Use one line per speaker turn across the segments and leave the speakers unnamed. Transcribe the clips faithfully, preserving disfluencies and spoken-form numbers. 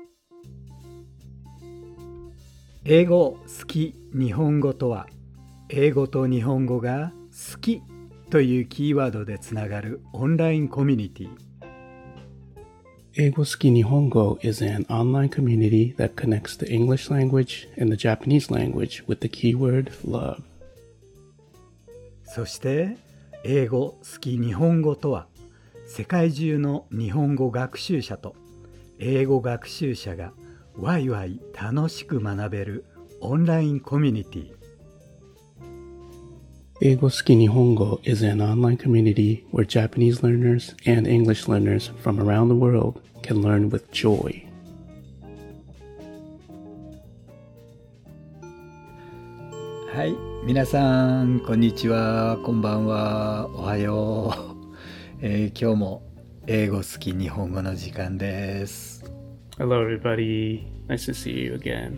英語好き日本語とは、英語と日本語が好きというキーワードでつながるオンラインコミュニティ。
英語好き日本語 is an online community that connects the English language and the Japanese language with the keyword love.
そして英語好き日本語とは、世界中の日本語学習者と英語学習者がワイワイ楽しく学べるオンラインコミュニティ。
英語好き日本語 is an online community where Japanese learners and English learners from around the world can learn with joy.
はい、皆さんこんにちは、こんばんは、おはよう、えー、今日も英語好き日本語の時間です。
Hello everybody, nice to see you again.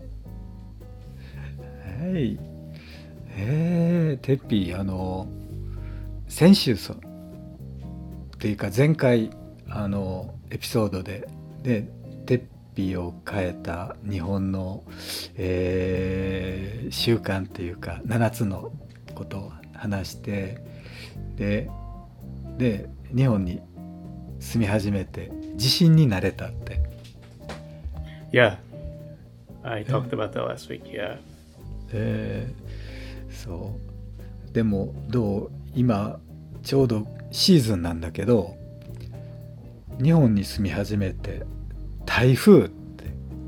はい、えー、てっぴー、あの先週そっていうか前回あのエピソードででてっぴーを変えた日本の、えー、習慣っていうかななつのことを話して、でで日本に住み始めて自信になれたって。
Yeah, I talked about that last week, yeah.
えー、そうでもどう今ちょうどシーズンなんだけど、日本に住み始めて台風って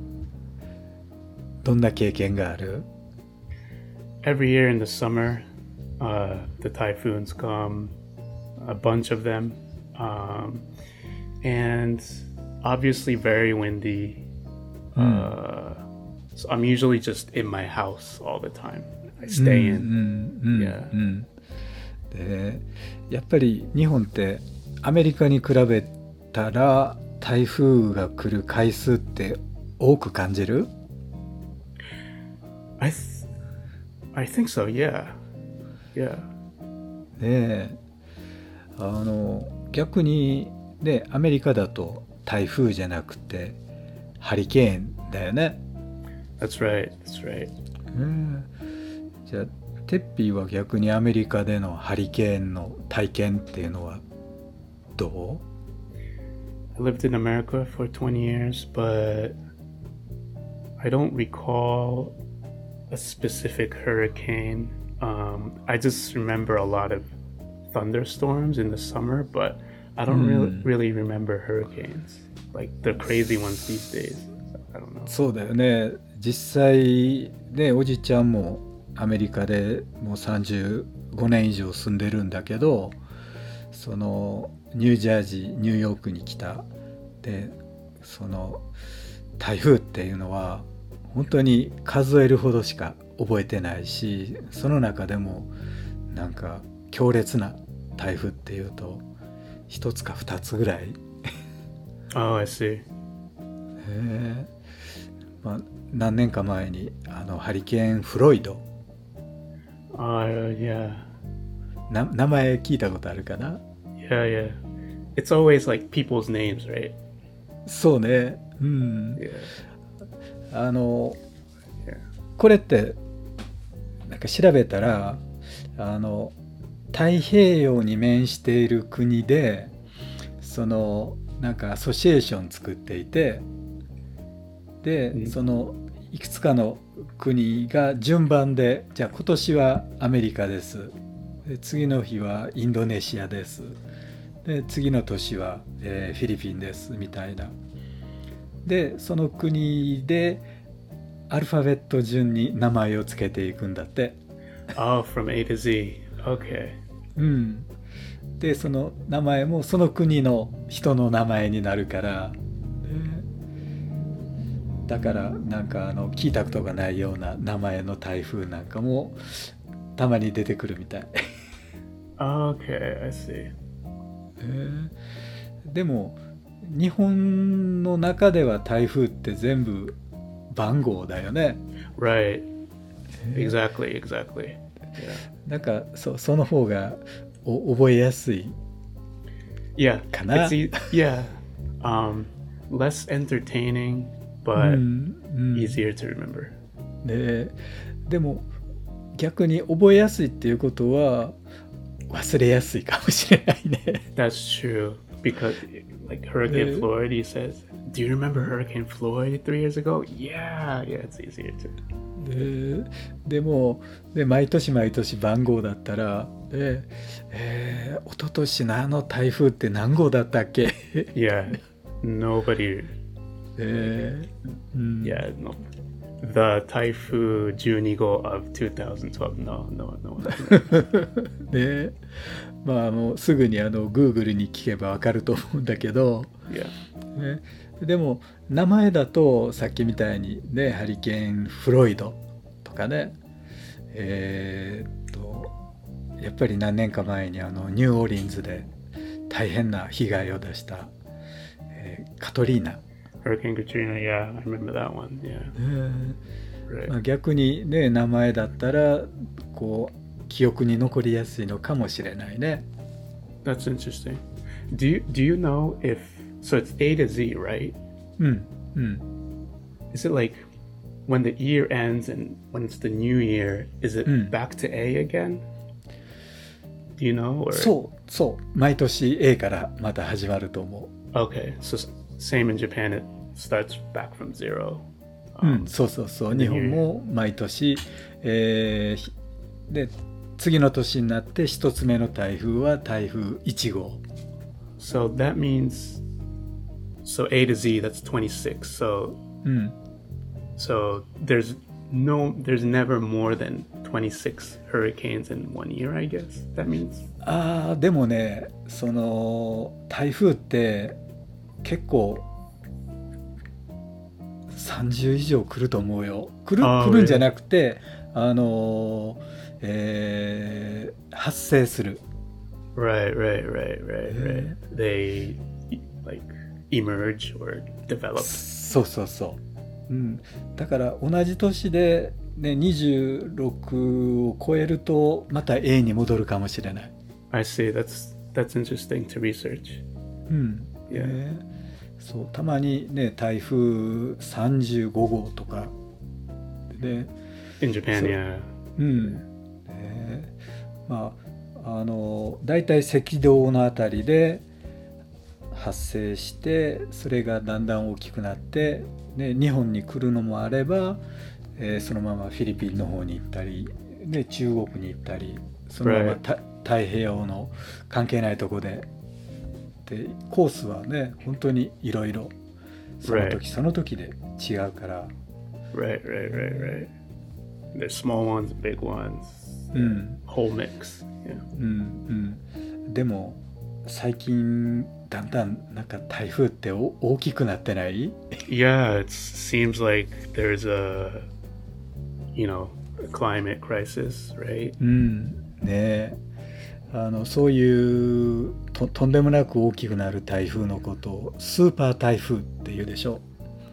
どんな経験がある？
Every year in the summer, uh, the typhoons come, a bunch of them, um, and obviously very windy.Uh, so I'm usually just in my house all the time. I stay in.
うんうんうん、
yeah.
うん、でやっぱり日本ってアメリカに比べたら台風が来る回数って多く感じる？
I th- I think so. Yeah. Yeah.
であの逆にね、アメリカだと台風じゃなくてハリケーンだよね。
That's right, that's right、
うん、じゃあテッピーは逆にアメリカでのハリケーンの体験っていうのはどう？
I lived in America for twenty years, but I don't recall a specific hurricane. Um, I just remember a lot of thunderstorms in the summer, but I don't really, really remember hurricanes.Like the crazy ones these days. I don't know.
そうだよね。実際ね、おじちゃんもアメリカでもうさんじゅうごねん以上住んでるんだけど、そのニュージャージーニューヨークに来たで、その台風っていうのは本当に数えるほどしか覚えてないし、その中でもなんか強烈な台風っていうと一つか二つぐらい。
Oh, I see.
へ、まあ、何年か前にあのハリケーンフロイド、
uh, yeah.
な名前聞いたことあるかな？
Yeah, yeah. It's always like people's names, right?
そうね、うん、
yeah.
あの、
yeah.
これってなんか調べたら、あの太平洋に面している国でそのなんかアソシエーション作っていて、で、うん、そのいくつかの国が順番で、じゃあ今年はアメリカです、で次の日はインドネシアです、で次の年は、えー、フィリピンですみたいな。でその国でアルファベット順に名前をつけていくんだって。
Oh, from A to Z. Okay.
うん。でその名前もその国の人の名前になるから、だからなんかあの聞いたことがないような名前の台風なんかもたまに出てくるみたい。
Okay, I see.
えー、でも日本の中では台風って全部番号だよね。
Right. Exactly, exactly. Yeah.
なんか そ, その方がお覚えやすい
Yeah.
かな。
It's, yeah. Um, less entertaining,
う
but
んうん
easier to remember.
ででも逆に覚えやすいっていうことは忘れやすいかもしれないね。
That's true because, like Hurricane
Uh,
Floyd, he says, "Do you remember Hurricane Floyd three years ago?" Yeah, yeah, it's easier to.
で, でもで毎年毎年番号だったらで、えー、一昨年のあの台風って何号だったっけ
Yeah, nobody.
えーうん、
Yeah, no. The Typhoon twelve of twenty twelve. No, no, no.
でまあもうすぐにあの Google に聞けばわかると思うんだけど、
Yeah.
ね、でも名前だとさっきみたいにねハリケーンフロイドとかねえー、っとやっぱり何年か前にあのニューオーリンズで大変な被害を出した、えーカトリーナ、
Hurricane Katrina, yeah, I remember that one. Yeah.
えー
Right.
まあ、逆にね名前だったらこう記憶に残りやすいのかもしれないね。
That's interesting. Do you do you know if so it's A to Z, right?
うんうん
Is it like when the year ends and when it's the new year, is it
Mm.
back to A again? Do you know? Or
そうそう毎年 A からまた始まると思
okay, so s- same in Japan, it starts back from zero.
う、う
Um,
ん、そうそうそう
the
日
new
本
year.
も毎年、えーひで次の年になって一つ目の台風は台風いち号。
So that means so A to Z, that's twenty-six. So
うん
so there's no there's never more than twenty-six hurricanes in one year, I guess. That means
あーでもねその台風って結構さんじゅう以上来ると思うよ。来る、
あー
来るんじゃなくてあのーえー発生する。
right, right, right, right, right. They e- like emerge or develop.
そうそうそう、うん、だから同じ年で、ね、にじゅうろくを超えるとまた A に戻るかもしれない。
I see. That's that's interesting to research.
うん
Yeah.
ね、そうたまにね台風さんじゅうご号とかで、
In Japan,
So-
yeah.
うんね、まああのだいたい赤道のあたりで発生してそれがだんだん大きくなって、ね、日本に来るのもあれば、えーそのままフィリピンの方に行ったり、ね、中国に行ったりそのまま
Right.
た太平洋の関係ないとこででコースはね本当にいろいろその時
Right.
その時で違うから、
Right, right, right, right. There's small ones, big ones,
うん、
whole mix. Yeah.
うんうん、でも最近だんだんなんか台風ってお大きくなってない？
Yeah, it seems like there's a, you know, a climate crisis, right?
うんねえあのそういうととんでもなく大きくなる台風のことをスーパー台風っていうでしょ。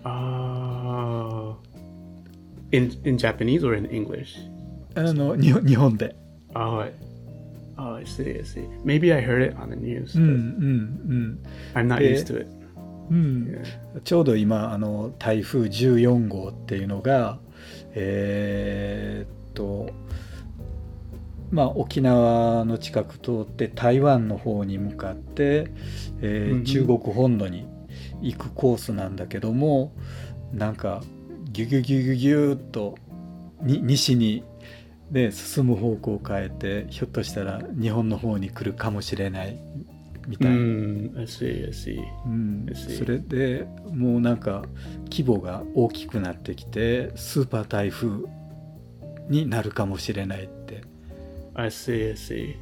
Oh. In in Japanese or in English?
あの日本日本で。
Oh, I, oh, I see, I see. Maybe I heard it on the news,
うんう
but
ん
I'm not
Eh,
used to it.
うんうん、
Yeah.
ちょうど今あの台風じゅうよん号っていうのがえーっとまあ沖縄の近く通って台湾の方に向かって、えー
うんうん
中国本土に行くコースなんだけどもなんかギュギュギュギュギューっとに西に、ね、進む方向を変えてひょっとしたら日本の方に来るかもしれないみたいな。
Mm, I see, I see.
うん、
I see.
それでもうなんか規模が大きくなってきてスーパー台風になるかもしれないって。
I see, I see.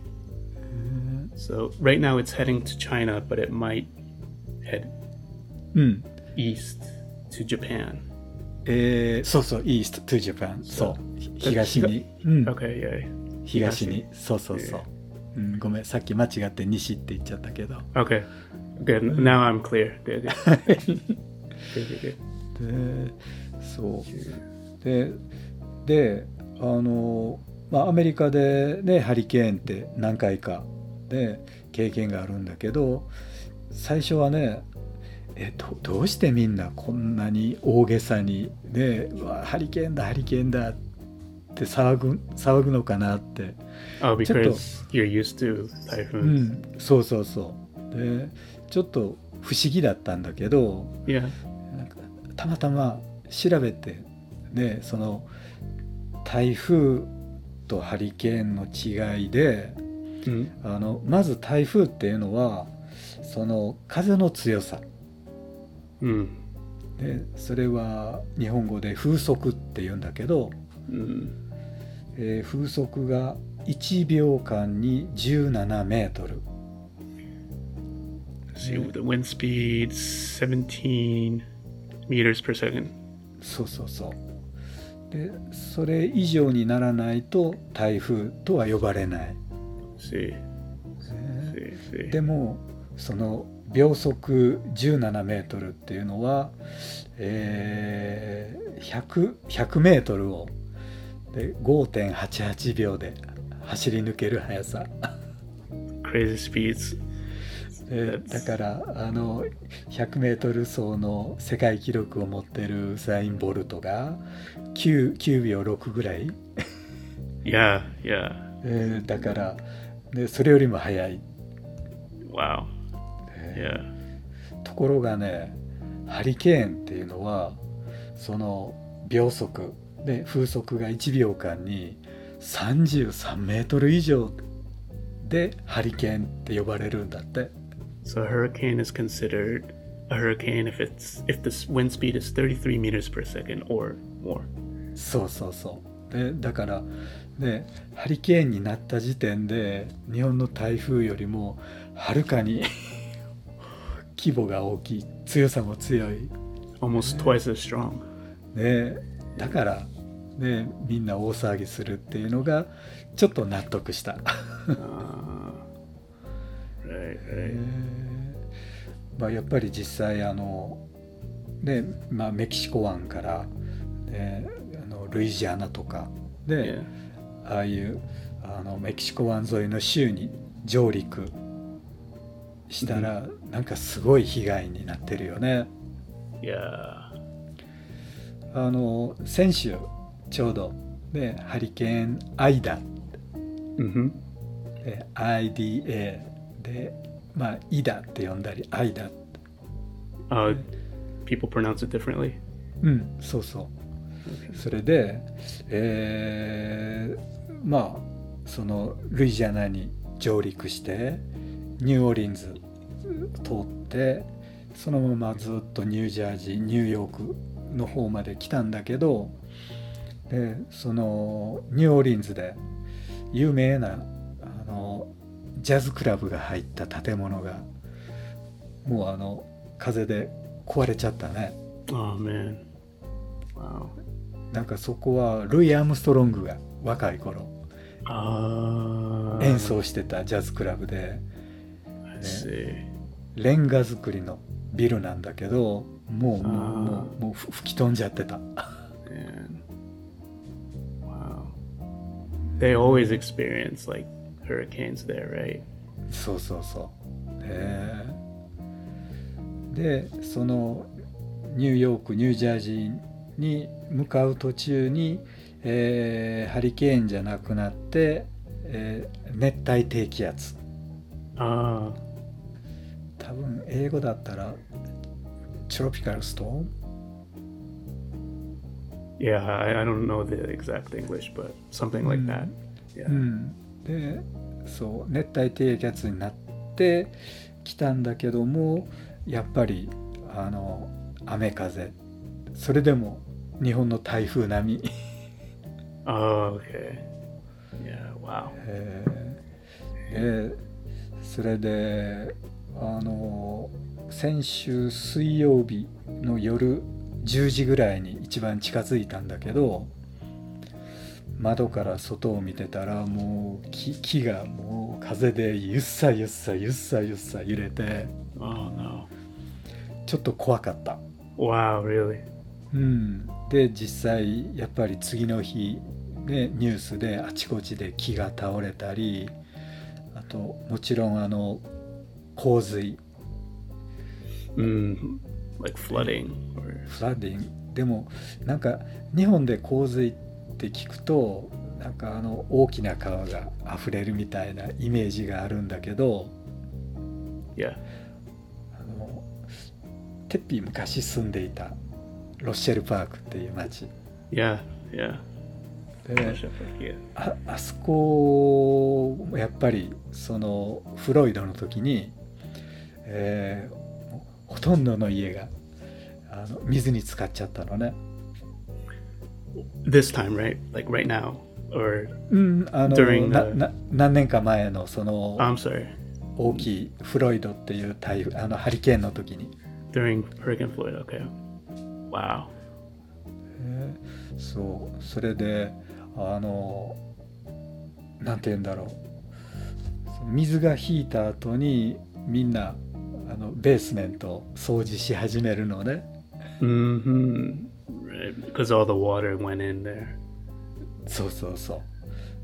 So right now it's heading to China, but it might head
うん、
east to Japan.
えー、そうそう East to Japan そうひ東に、うん、
Okay, yeah.
東にそうそうそう、うん、ごめんさっき間違って西って言っちゃったけど
Okay. Good. Now I'm clear. Good, good. Good, good, good.
でそうでであのまあアメリカでねハリケーンって何回かで経験があるんだけど最初はねえどどうしてみんなこんなに大げさにね、うわハリケーンだハリケーンだって騒ぐ騒ぐのかなって、
Oh,
ちょっと、
because you're used to
う
typhoons.
ん、そうそうそうでちょっと不思議だったんだけど、
Yeah.
なんかたまたま調べて、ね、その台風とハリケーンの違いで、
Mm.
あのまず台風っていうのはその風の強さ
Mm.
で、それは日本語で風速って言うんだけど、
Mm.
えー風速がいちびょうかんにじゅうななメートル、
See,
Yeah.
the wind speed seventeen meters per second.
そうそうそうで、それ以上にならないと台風とは呼ばれない、
See,
ね
see, see.
でもその秒速じゅうななメートルっていうのは、えー、ひゃく, ひゃくメートルをで ごてんはちはちびょうで走り抜ける速さ
Crazy speeds.
で、だからあのひゃくメートル走の世界記録を持ってるウサイン・ボルトが 9, きゅうびょうろくぐらい、
Yeah, yeah.
えーだからでそれよりも速い、
Wow.
え
Yeah.
ーところがね、ハリケーンっていうのはその秒速で風速がいちびょうかんにさんじゅうさんメートル以上でハリケーンって呼ばれるんだって。
So a hurricane is considered a hurricane if it's if the wind speed is thirty-three meters per second or more.
そうそうそうで、だからね、ハリケーンになった時点で日本の台風よりもはるかに規模が大きい、強さも強い、
Almost twice as strong.
ね、だからね、みんな大騒ぎするっていうのがちょっと納得した。
Uh, right,
え
right.
ーまあ、やっぱり実際あの、ねまあ、メキシコ湾から、ね、あのルイジアナとかで、
Yeah.
ああいうあのメキシコ湾沿いの州に上陸したら、なんかすごい被害になってるよね。
Yeah.
あの先週ちょうど、ね、ハリケーンアイダ
Mm-hmm.
で アイディーエー で、まあ、イダって呼んだりアイダ、
Uh, people pronounce it differently.
うんそうそう、それで、えーまあそのルイジアナに上陸してニューオーリンズ通ってそのままずっとニュージャージーニューヨークの方まで来たんだけど、でそのニューオーリンズで有名なあのジャズクラブが入った建物がもうあの風で壊れちゃったね。
Oh man. Wow.
なんかそこはルイ・アームストロングが若い頃
Uh,
演奏してたジャズクラブで、
I see.
レンガ造りのビルなんだけどもうもう
あー
もうもう吹き飛んじゃってた。
Man. Wow. They always experience like hurricanes there, right?
そうそうそう、ね、でそのニューヨークニュージャージーに向かう途中に、えーハリケーンじゃなくなって、えー熱帯低気圧、
Uh,
多分英語だったらトロピカルストーム、
yeah, I, I don't know the exact English, but something like that.
う
Yeah.
ん、でそう熱帯低気圧になってきたんだけどもやっぱりあの雨風それでも日本の台風並み、
Oh, okay. Yeah, wow.
えーでそれであの先週水曜日の夜じゅうじぐらいに一番近づいたんだけど窓から外を見てたらもう 木, 木がもう風でゆっさゆっさゆっさゆっさ揺れて
Oh no.
ちょっと怖かった。
Wow, really?
うん、で実際やっぱり次の日、ね、ニュースであちこちで木が倒れたりあともちろんあの洪水
Mm, like flooding or
フラッディングでもなんか日本で洪水って聞くとなんかあの大きな川が溢れるみたいなイメージがあるんだけど、
yeah.
あのテッピー昔住んでいたロッシェルパークっていう町
Yeah, yeah.
で、
Yeah.
あ, あそこやっぱりそのフロイドの時に、えーほとんどの家があの水に浸かっちゃったのね。
This time, right? Like right now, or
うんあの
During
な
the-
な何年か前のその
I'm sorry,
大きいフロイドっていう台風あのハリケーンの時に、
during Hurricane Floyd. Okay. Wow.
えーそうそれであのなんて言うんだろう、その水が引いた後にみんなあのベースメントを掃除し始めるのね。
Mm-hmm. Right, because all the water went in there.
そうそうそう。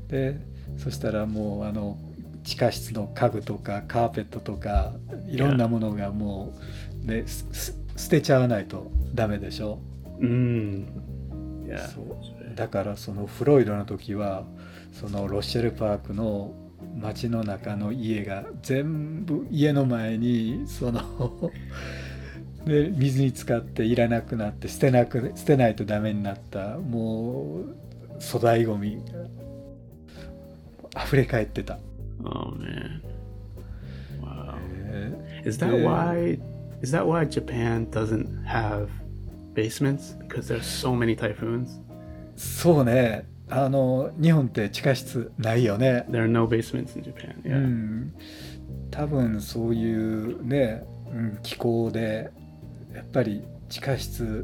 でそしたらもうあの地下室の家具とかカーペットとかいろんなものがもう、ね、すす捨てちゃわないとダメでしょ。
Mm. Yeah.
そう
that's right.
だからそのフロイドの時はそのロッシェルパークの街の中の家が全部家の前にそので水に浸かっていらなくなって捨てなく捨てないとダメになったもう粗大ごみが溢れ返ってた。
Oh man. Wow.
え
Is that
Yeah.
why? Is that why Japan doesn't have basements? Because there's so many typhoons.
ーそうね、あの日本って地下室ないよね。
There are no basements in Japan.
う
Yeah.
ん、多分そういうね、うん、気候でやっぱり地下室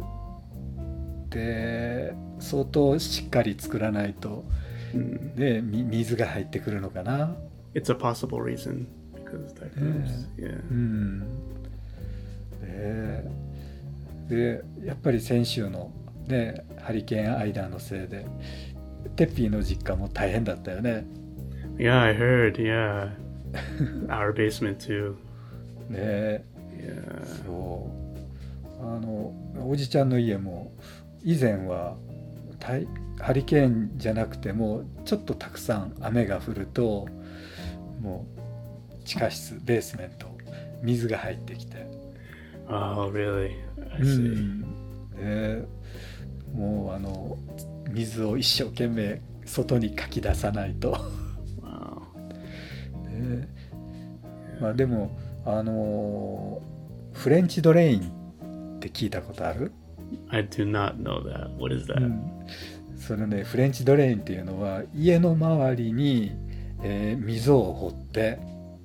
で相当しっかり作らないと、
Mm.
ね、み水が入ってくるのかな。
It's a possible reason because of typhoons. Yeah.
うんででやっぱり先週の、ね、ハリケーンアイダーのせいでテッピーの実家も大変だったよね。
Yeah, I heard. Yeah. Our basement too.
ね
Yeah.
そうあのおじちゃんの家も以前は大ハリケーンじゃなくてもちょっとたくさん雨が降るともう地下室ベースメント水が入ってきて、
Oh, really? I
う
see.
んでもうあの水を一生懸命外にかき出さないと、
Wow.
ねまあ、でもあのフレンチドレインって聞いたことある？
I do not know that. What is that?
うんそのねフレンチドレインっていうのは家の周りに、えー溝を掘って、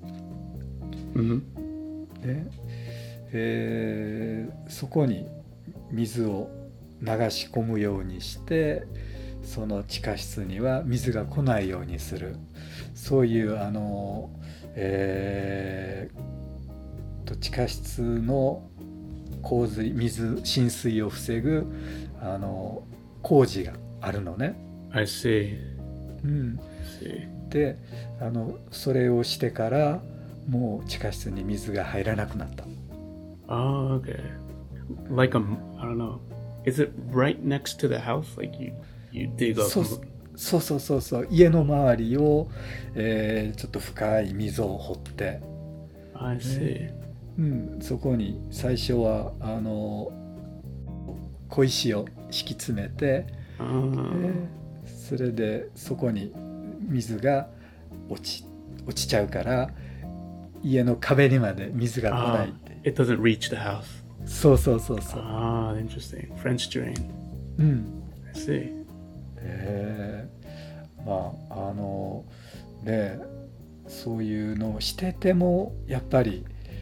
Mm-hmm.
ねえーそこに水を流し込むようにしてその地下室には水が来ないようにする、そういうあの、えーと地下室の洪水水浸水を防ぐあの工事があるのね。
I see.
うん、
I see.
であのそれをしてからもう地下室に水が入らなくなった。
Oh, okay. Like a, I don't know. Is it right next to the house? Like you, you dig up.
そうそうそうそうそう家の周りを、えーちょっと深い溝を掘って、
I see.
うん、そこに最初はあの小石を敷き詰めて、
Oh.
えーそれでそこに水が落ち落ちちゃうから家の壁にまで水が来な
Ah,
いって。
it doesn't reach the house.
そうそうそうそう。
Ah, interesting. French drain.
うん
I see.
えーまああのねそういうのをしててもやっぱり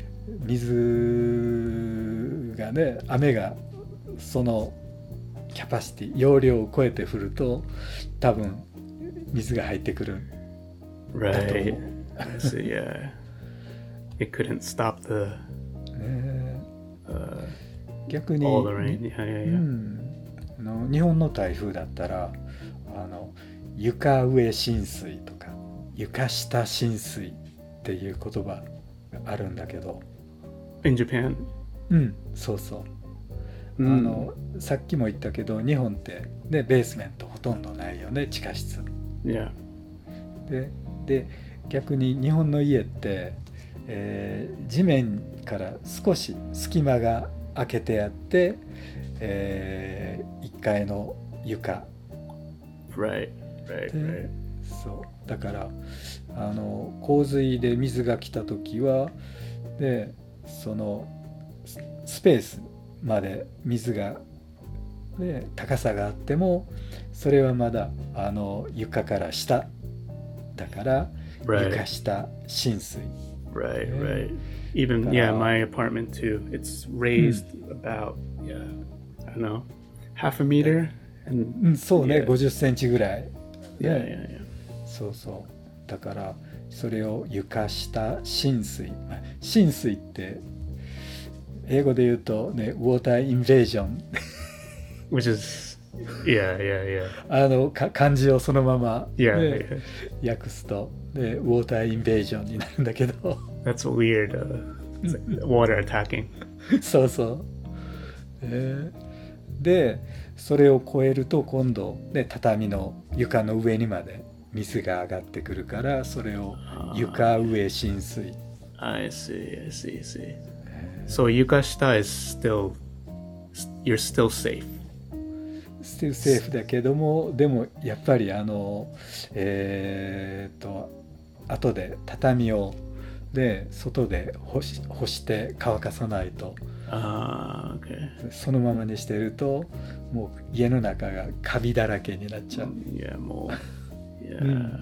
水がね雨がそのキャパシティ容量を超えて降ると多分水が入ってくる。
Right. I see. Yeah. It couldn't stop the
ね
uh,
逆に
all the rain. Yeah,
う
yeah, yeah.
ん、あの日本の台風だったらあの床上浸水とか床下浸水っていう言葉があるんだけど、
In Japan.
うん、そうそう。あ
Mm.
のさっきも言ったけど日本ってねベースメントほとんどないよね地下室
Yeah.
で、で逆に日本の家って、えー地面から少し隙間が開けてあって、えいっかいの床
Right. Right.
で
Right.
そうだからあの洪水で水が来た時はでそのススペースまで水が、ね、高さがあってもそれはまだあの床から下だから
Right.
床下浸水
Right.
Yeah.
Right. Even
But,
yeah,
uh,
my apartment too. It's raised about yeah, I don't know, half a meter.
う
And
んそうね
Yeah.
ごじゅっセンチぐらい、ね
yeah, yeah, yeah.
そうそうだからそれを床下浸水、まあ浸水って英語で言うとねウォーターインベージョン
Which is yeah, yeah, yeah.
あのか漢字をそのまま、
Yeah,
ね
yeah.
訳すとでウォーターインベージョンになるんだけど
That's weird. Uh, it's like water attacking.
そうそう、えーでそれを超えると今度、ね、畳の床の上にまで水が上がってくるからそれを床上浸水
I see, I see, I see. So Yukashita is still, you're still safe.
ステルセーフだけどもでもやっぱりあのえーっと後で畳をで外で干し、干して乾かさないと
Ah, okay.
そのままにしてるともう家の中がカビだらけになっちゃう、
Yeah, more. Yeah.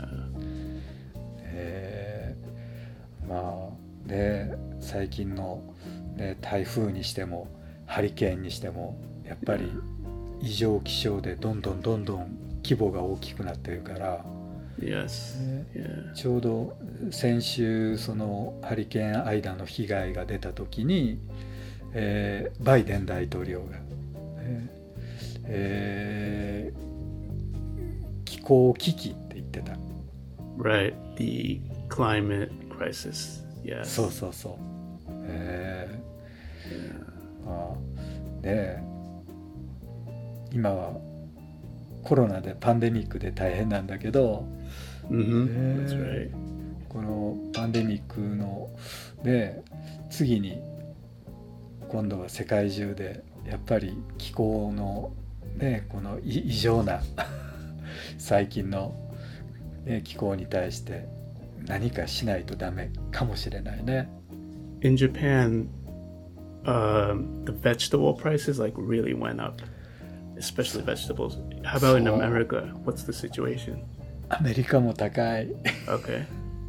えーまあね最近の、ね、台風にしてもハリケーンにしてもやっぱり異常気象でどんどんどんどん規模が大きくなってるから、
Yes.
ね
Yeah.
ちょうど先週そのハリケーンアイダの被害が出た時に、えーバイデン大統領が、ねえー気候危機って言ってた。
Right. The climate crisis. Yes.
そうそうそう、え
Yeah.
ーまあねえ今はコロナでパンデミックで大変なんだけど、
Mm-hmm.
Yeah.
That's right.
このパンデミックので次に今度は世界中でやっぱり気候のねこのい異常な最近の、ね、気候に対して何かしないとダメかもしれないね。
In Japan, um, the vegetable prices like really went up, especially vegetables. How about in
So-
America? What's the situation?
アメリカも高い。
Okay.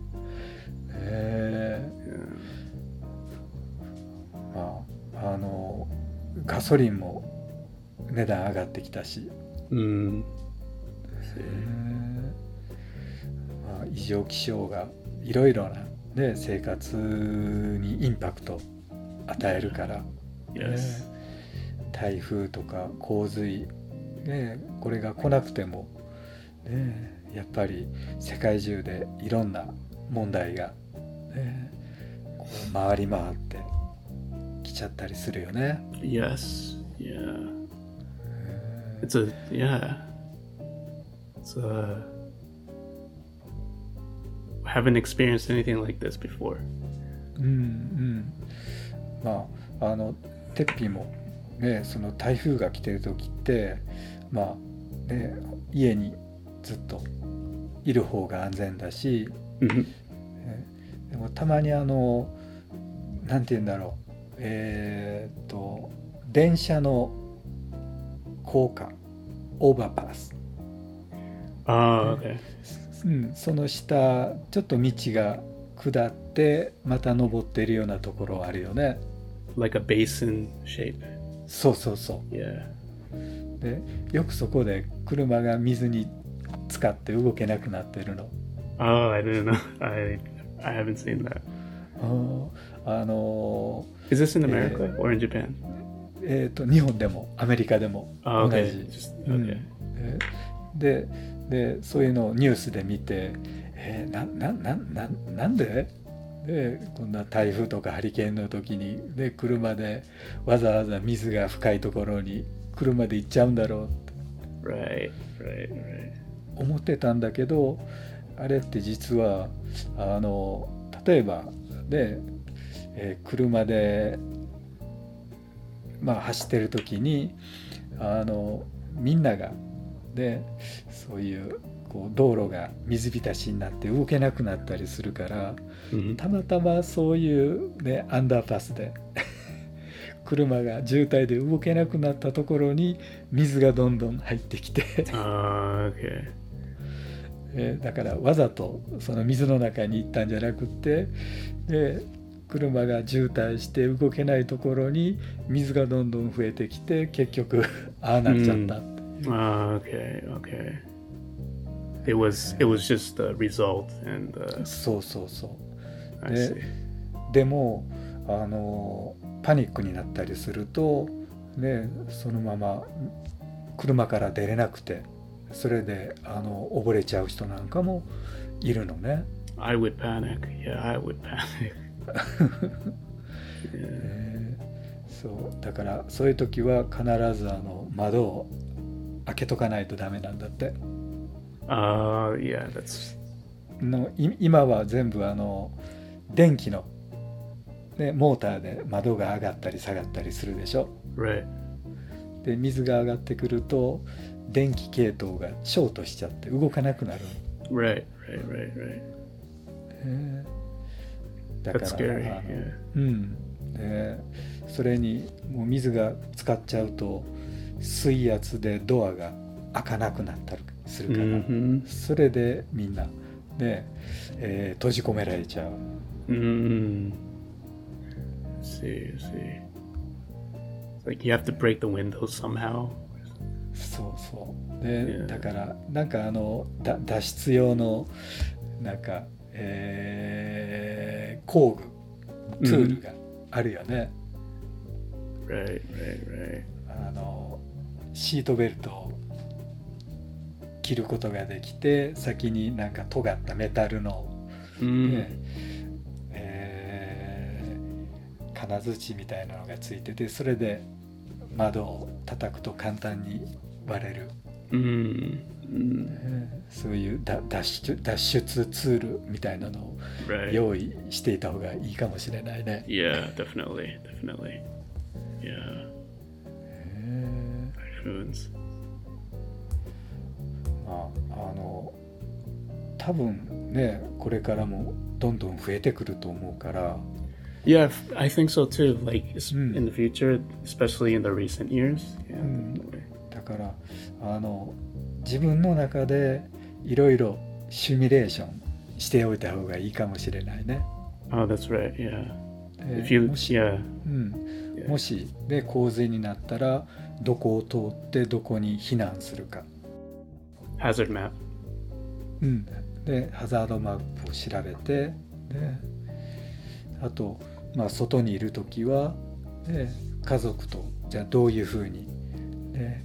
え
Yeah.
ーまああのガソリンも値段上がってきたし、
Mm.
えーまあ、異常気象がいろいろな、ね、生活にインパクト与えるから、
Yes.
ね台風とか洪水、ね、これが来なくても、ね、やっぱり世界中でいろんな問題が、ね、こう回り回ってきちゃったりするよね。
Yes. Yeah.
え
It's a yeah. It's a. I haven't experienced anything like this before.
ーうんうんまああのテッピーもねその台風が来てる時ってまあね家にずっといる方が安全だし、
Mm-hmm.
ねでもたまにあのなんて言うんだろうえーっと電車の高架オーバーパス、
Oh, okay.
うん、その下ちょっと道が下ってまた登ってるようなところあるよね。
Like a basin shape.
そうそうそ
Yeah.
うでよくそこで車が水に浸かって動けなくなってるの。
Oh, I didn't know. I I haven't seen that.
あーあの
Is this in
Yeah.
America or in Japan?
ーえーっと日本でもアメリカでも
Oh,
同
okay.
じ、
Just
うん
okay.
えででそういうのをニュースで見て、えーなななななんででこんな台風とかハリケーンの時に、で車でわざわざ水が深いところに車で行っちゃうんだろうって
Right, right, right.
思ってたんだけど、あれって実はあの例えばで、えー車で、まあ、走ってる時にあのみんながでそういうこう道路が水浸しになって動けなくなったりするから、
Mhm.
たまたまそういう、ね、アンダーパスで車が渋滞で動けなくなったところに水がどんどん入ってきて、
Uh, okay.
えーだからわざとその水の中に行ったんじゃなくって、で車が渋滞して動けないところに水がどんどん増えてきて、結局ああなっちゃったっていう、
Uh, okay, okay. It was it was just the result, and uh,
そうそうそう
I
で
see.
でもあのパニックになったりすると、ね、そのまま車から出れなくて、それであの溺れちゃう人なんかもいるのね。
I would panic. Yeah, I would panic. Yeah.
えーそうだからそういう時は必ずあの窓を開けとかないとダメなんだって。
Uh, yeah, that's
のい今は全部あの電気の、ね、モーターで窓が上がったり下がったりするでしょ。
right.
で水が上がってくると電気系統がショートしちゃって動かなくなる。
Right, right, right, right.
えーだか
That's
ら
scary.
あの
Yeah.
うんでそれにもう水が使っちゃうと水圧でドアが開かなくなったりするから、
Mm-hmm.
それでみんなで、えー閉じ込められちゃう。
Mm. See, see. It's like you have to break the windows somehow.
そうそうで、
Yeah.
だからなんかあのだ脱出用のなんか、えー工具ツールがあるよね。
Right, right, right.
あのシートベルトを切ることができて、先になんか尖ったメタルの、
Mm.
ねえー金槌みたいなのがついてて、それで窓を叩くと簡単に割れる、
Mm. Mm.
えーそういうだ脱出脱出ツールみたいなのを
Right.
用意していた方がいいかもしれないね。
Yeah, definitely, definitely. Yeah.
え
Typhoons.
ーまああの多分ねこれからもどんどん増えてくると思うから、
Yeah, f- I think so too. Like es-
Mm.
in the future, especially in the recent years. Yeah,
Mm.
definitely.
だからあの自分の中でいろいろシミュレーションしておいた方がいいかもしれないね。
Oh, that's right. Yeah.
で
If you,
もし、
yeah,
うん、
yeah.
もしで洪水になったらどこを通ってどこに避難するか、
Hazard map.
うん、でハザードマップを調べて、であと、まあ、外にいる時はで家族とじゃあどういうふうに、で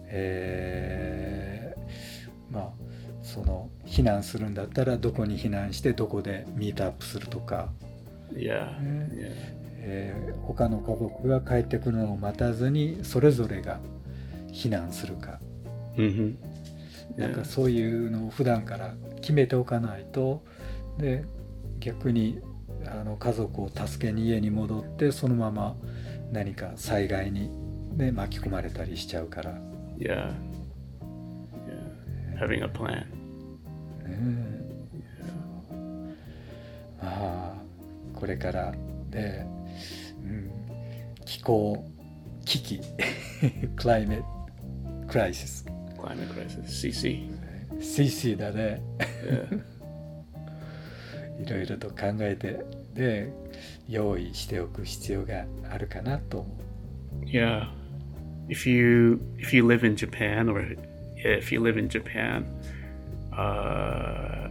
えーまあその避難するんだったらどこに避難してどこでミートアップするとか、
Yeah,
Mm.
yeah.
えー他の家族が帰ってくるのを待たずにそれぞれが避難するか、
Mm-hmm.
なん
Yeah.
かそういうのを普段から決めておかないと、で逆にあの家族を助けに家に戻ってそのまま何か災害に、ね、巻き込まれたりしちゃうから、ね
Yeah. Yeah. Having a plan.
えまあこれからで、うん、気候危機クライメットクライシス
Climate crisis. C C.
シーシー だね。
Yeah.
いろいろと考えてで用意しておく必要があるかなと思う。
Yeah. If you if you live in Japan, or yeah, if you live in Japan, uh,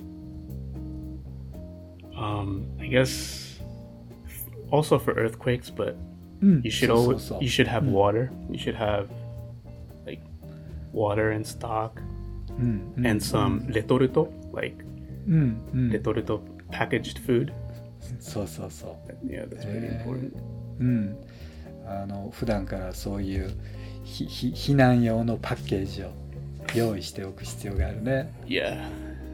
um, I guess also for earthquakes, but
うん
you should
そうそう
always
そう
you should have
うん
water. You should have like water in stock
うんうん
and some retorto, like
うんうん
retorto packaged food.
そうそうそう。
Yeah, that's really
え
important.
ーうん。あの普段からそういうひひ避難用のパッケージを用意しておく必要があるね。
Yeah.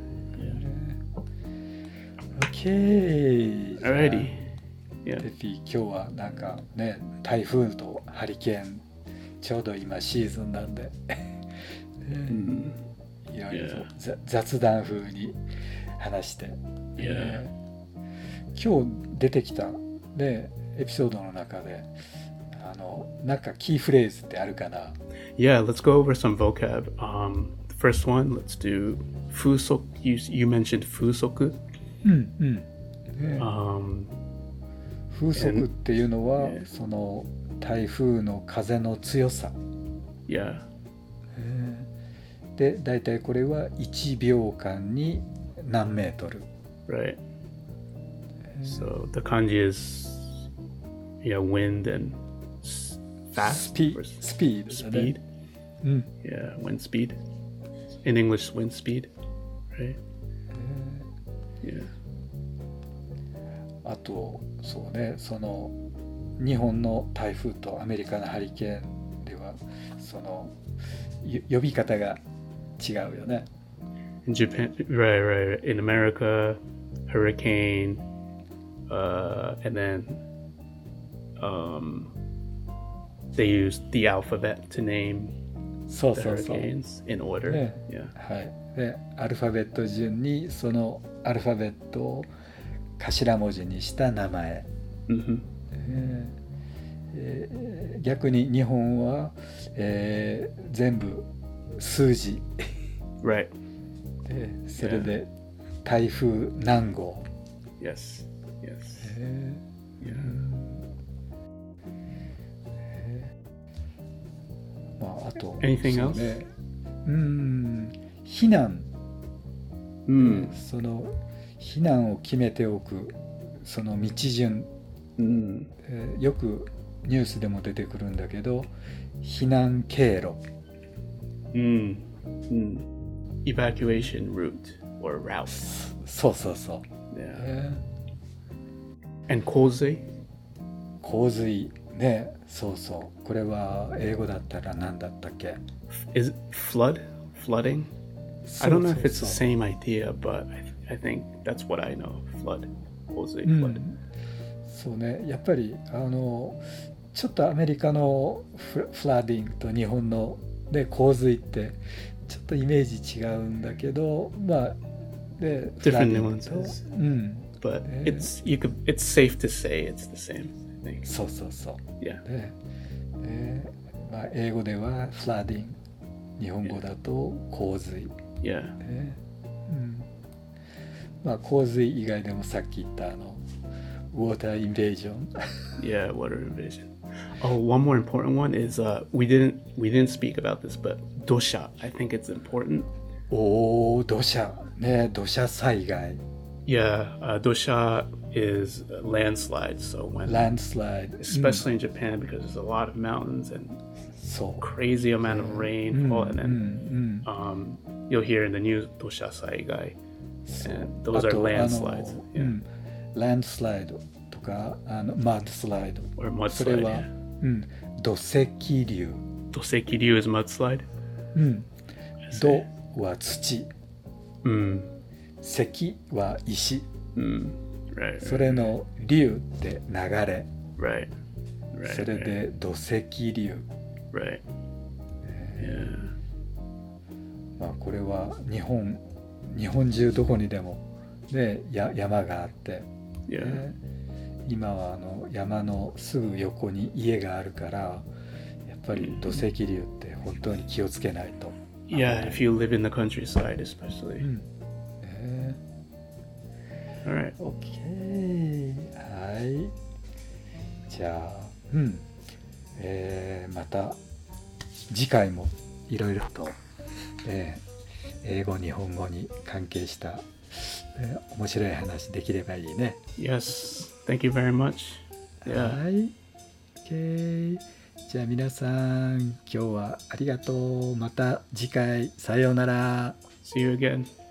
OK。
Alrighty.
テ
Yeah.
フィ、今日はなんかね、台風とハリケーン、ちょうど今シーズンなんで、
Mm.
いろいろと
Yeah.
ざ雑談風に話して、
Yeah.
えー今日出てきた、ね、エピソードの中で、あのなんかキーフレーズってあるかな？
Yeah, let's go over some vocab. Um, the first one, let's do fusok. You, you mentioned fusoku.
うんうん。ね、
Um,
風速っていうのは、
and-
その台風の風の強さ。
yeah.
で、だいたいこれはいちびょうかんに何メートル。
Right. So the kanji is, yeah, wind and s-
ス
fast.
ピ
or
スピードだね。
speed.
うん。
Yeah, wind speed. In English, wind speed. Right. Yeah.
あとそうね、その日本の台風とアメリカのハリケーンではそのよ呼び方が違うよね。
In Japan, right, right, right. In America, hurricane, uh, and then um, they use the alphabet to name
そう
the
そうそう。
hurricanes in order.
Yeah.
Yeah.
はい。で、アルファベット順にそのアルファベットを頭文字にした名前。
hmm
えーえー逆に日本は、えー全部数字
Right.
で、それで台風何号、
Yes. Yes.
え
Yeah.
ーまあ、あと
Anything
そう
else?
ね、うーん避難、
Mm.
その避難を決めておくその道順、
Mm.
えーよくニュースでも出てくるんだけど、避難経路。
Mm. Mm. Evacuation route or route.
そうそうそう、
Yeah.
え
And kozei?
ー洪水ね、そうそう、これは英語だったら何だったっけ？
Is it flood? Flooding?
そ
I
う
don't know
そう
if it's the
そう
same idea, but I, I think that's what I know. Flood. Kozei
う
flood.
ん、そうね、やっぱりあのちょっとアメリカのフフラッディングと日本の、ね、洪水ってちょっとイメージ違うんだけど、まあで
Different
フラッディングと
nuances.
うん、
But
Yeah.
it's you could it's safe to say it's the same, I think.
そうそうそう。
Yeah.
で、えーまあ、英語ではフラッディング、日本語だと洪水、
Yeah.
ね、うん、まあ洪水以外でもさっき言ったあのウォーターインベージョン
Yeah, water invasion. Oh, one more important one is uh we didn't we didn't speak about this, but dosha. I think it's important.
おお、土砂ね、土砂災害、
Yeah, uh, dosha is a landslide. So when,
ランドスライド、
especially in Japan, because there's a lot of mountains and
そう、
crazy amount of
うん
rainfall, and
うん
then
うん、
um, you'll hear in the news dosha saigai,
そう
and those
あ
are
と
landslides.
あの、
Yeah.
うん、ランドスライドとかあのマッドスライド、
Or
それ
mudslide.
は、
Yeah.
うん、土石流、
Dosekiryu is mudslide.
うん、
I
土
see.
は土、
Mm.
石は石、
Mm. Right.
それの流って流れ、
Right. Right.
それ
right.
で土石流、
Right. Yeah.
まあ、これは日本日本中どこにでも、ね、や山があって、
Yeah.
ね、今はあの山のすぐ横に家があるからやっぱり土石流って本当に気をつけないと。
Yeah, if you live in the countryside,
う
especially.
んね、
All right.
OK、 はい、じゃあ、うんえーまた次回もいろいろと、えー英語日本語に関係した、えー面白い話できればいいね。
Yes. Thank you very much. Yeah.
はい、OK、 じゃあ皆さん今日はありがとう。また次回さようなら。
See you again.